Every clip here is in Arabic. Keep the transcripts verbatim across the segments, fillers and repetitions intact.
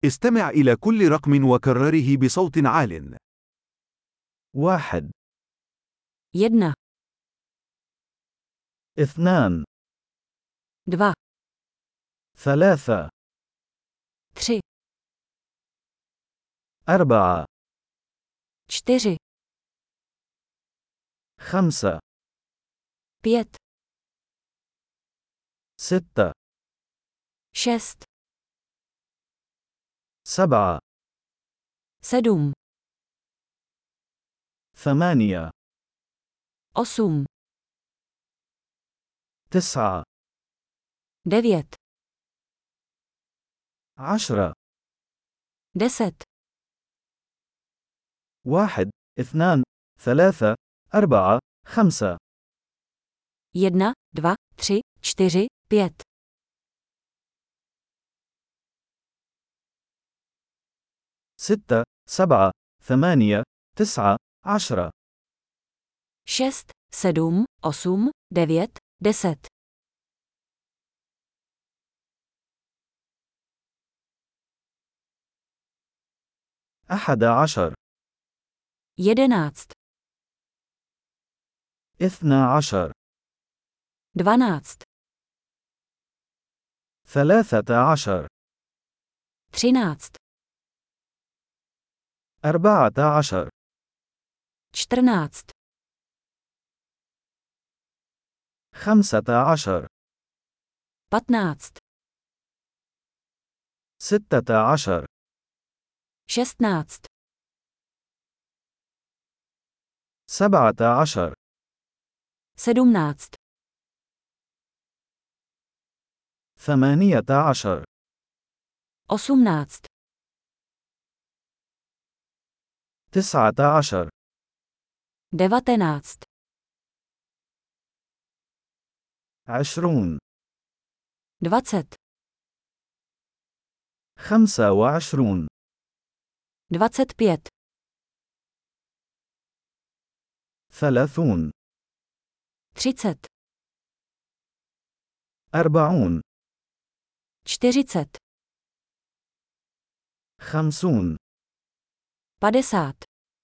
استمع إلى كل رقم وكرره بصوت عال. واحد، Jedna, اثنان، dva, ثلاثة، tři, أربعة، čtyři, خمسة، pět, ستة، šest, سبعة، sedm, ثمانية، osm, تسعة، devět, عشرة، deset, واحد، اثنان، ثلاثة، أربعة، خمسة، jedna, dva, tři, čtyři, pět, ستة، سبعة، ثمانية، تسعة، عشرة، šest, sedm, osm, devět, deset, أحد عشر، jedenáct, اثنا عشر، dvanáct, ثلاثة عشر، třináct, أربعة عشر، čtrnáct, خمسة عشر، patnáct, ستة عشر، šestnáct, سبعة عشر، sedmnáct, ثمانية عشر، osmnáct, تسعة عشر، devatenáct, عشرون، dvacet, خمسة وعشرون، dvacet pět, ثلاثون، třicet, أربعون، čtyřicet, خمسون، padesát,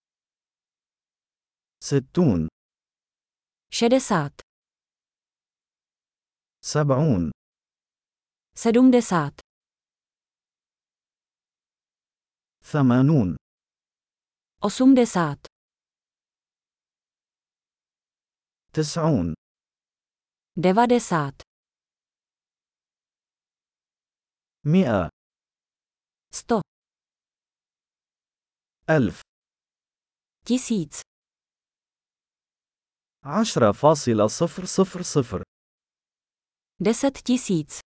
ستون، šedesát, سبعون، sedmdesát, ثمانون، osmdesát, تسعون، devadesát, مئة، sto, ألف، tisíc, عشرة فاصلة صفر صفر صفر، deset tisíc,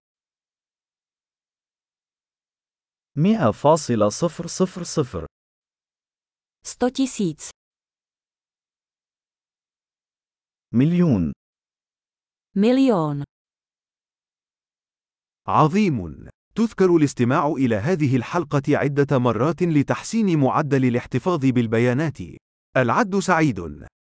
مئة فاصلة صفر صفر صفر، sto tisíc, مليون. milion. عظيم! تذكر الاستماع إلى هذه الحلقة عدة مرات لتحسين معدل الاحتفاظ بالبيانات. العد سعيد.